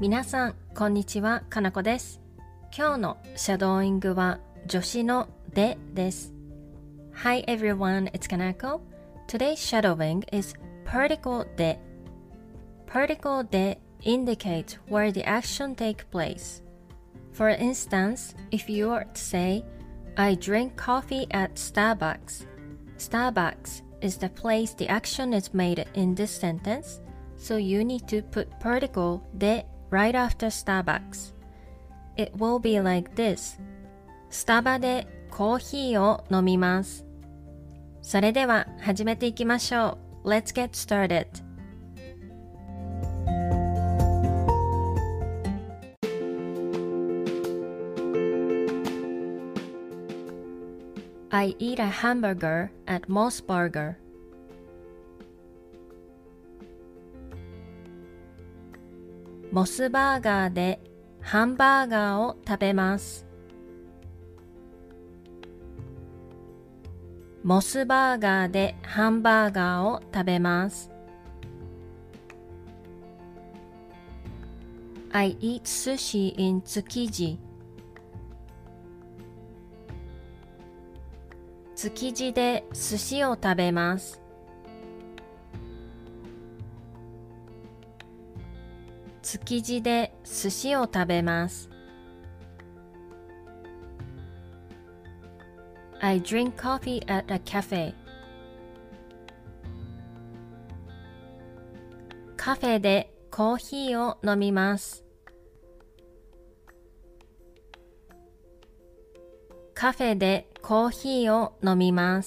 皆さん、こんにちは、かなこです。今日のシャドーイングは助詞のでです。Hi everyone, it's Kanako. Today's shadowing is particle de. Particle de indicates where the action takes place. For instance, if you were to say, I drink coffee at Starbucks. Starbucks is the place the action is made in this sentence, so you need to put particle de right after Starbucks. It will be like this. スタバでコーヒーを飲みます。それでは始めていきましょう。Let's get started. I eat a hamburger at Moss Burger. モスバーガーでハンバーガーを食べます。モスバーガーでハンバーガーを食べます。I eat sushi in Tsukiji. 築地で寿司を食べます。築地で寿司を食べます。I drink coffee at a cafe. カフェでコーヒーを飲みます。カフェでコーヒーを飲みます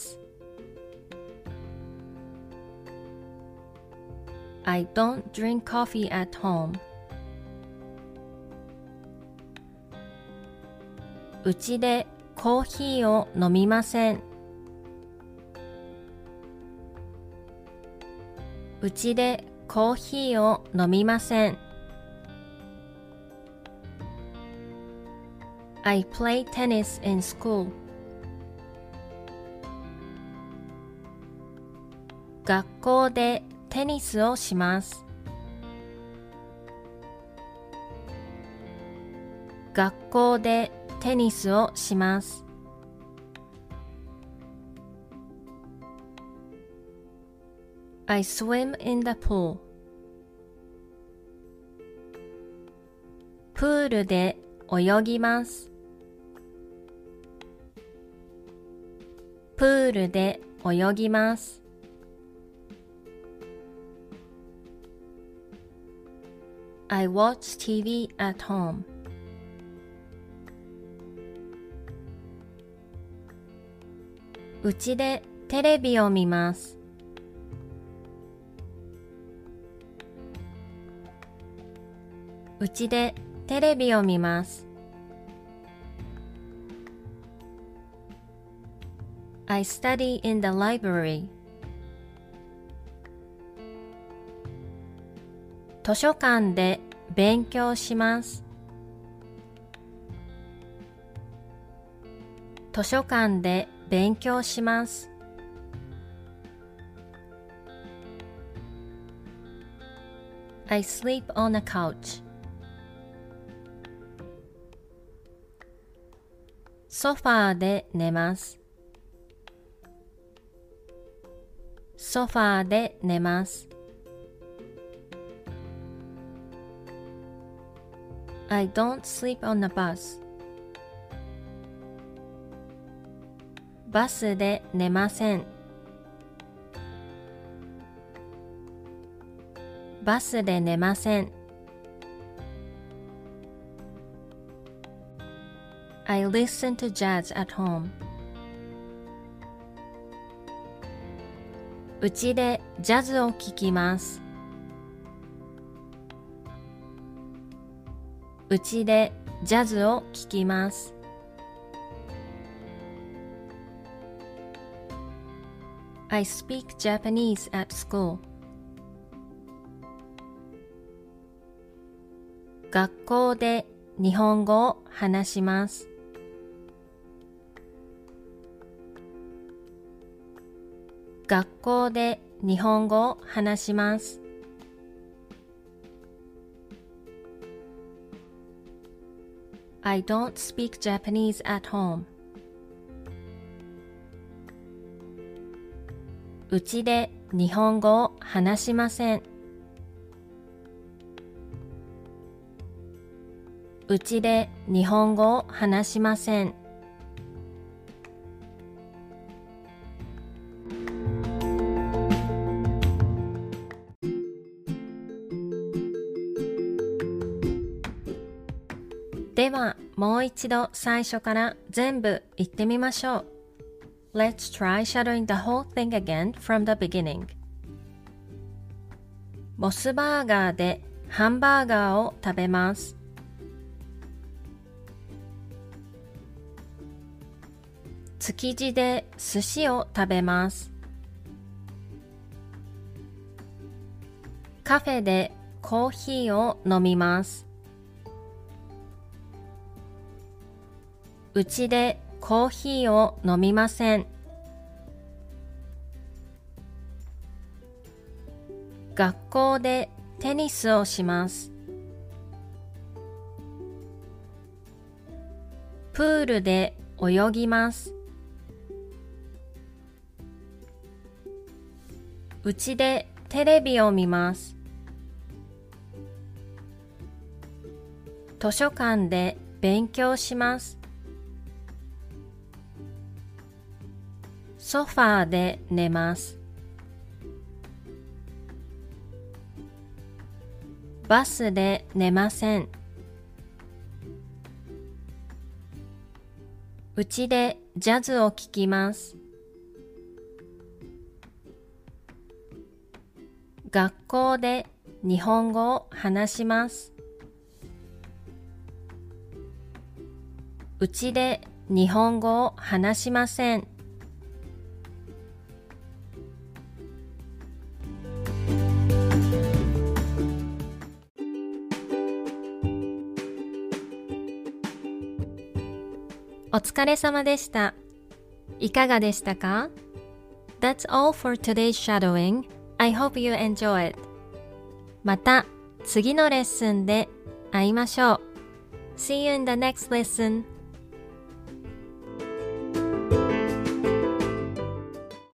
。I don't drink coffee at home. うちでコーヒーを飲みません。うちでコーヒーを飲みません。I play tennis in school. 学校でテニスをします。学校でテニスをします。I swim in the pool. プールで泳ぎます。プールで泳ぎます。I watch TV at home. うちでテレビを見ます。うちでテレビを見ます。I study in the library. 図書館で勉強します。図書館で勉強します。I sleep on a couch. ソファーで寝ます。ソファーで寝ます。I don't sleep on a bus. バスで寝ません。バスで寝ません。I listen to jazz at home. うちでジャズを聴きます。うちでジャズを聴きます。I speak Japanese at school. 学校で日本語を話します。学校で日本語を話します。 I don't speak Japanese at home. うちで日本語を話しません。うちで日本語を話しません。では、もう一度最初から全部言ってみましょう。Let's try shadowing the whole thing again from the beginning. モスバーガーでハンバーガーを食べます。築地で寿司を食べます。カフェでコーヒーを飲みます。うちでコーヒーを飲みません。学校でテニスをします。プールで泳ぎます。うちでテレビを見ます。図書館で勉強します。ソファーで寝ます。バスで寝ません。うちでジャズを聴きます。学校で日本語を話します。うちで日本語を話しません。お疲れ様でした。いかがでしたか？ That's all for today's shadowing. I hope you enjoy it. また次のレッスンで会いましょう。See you in the next lesson.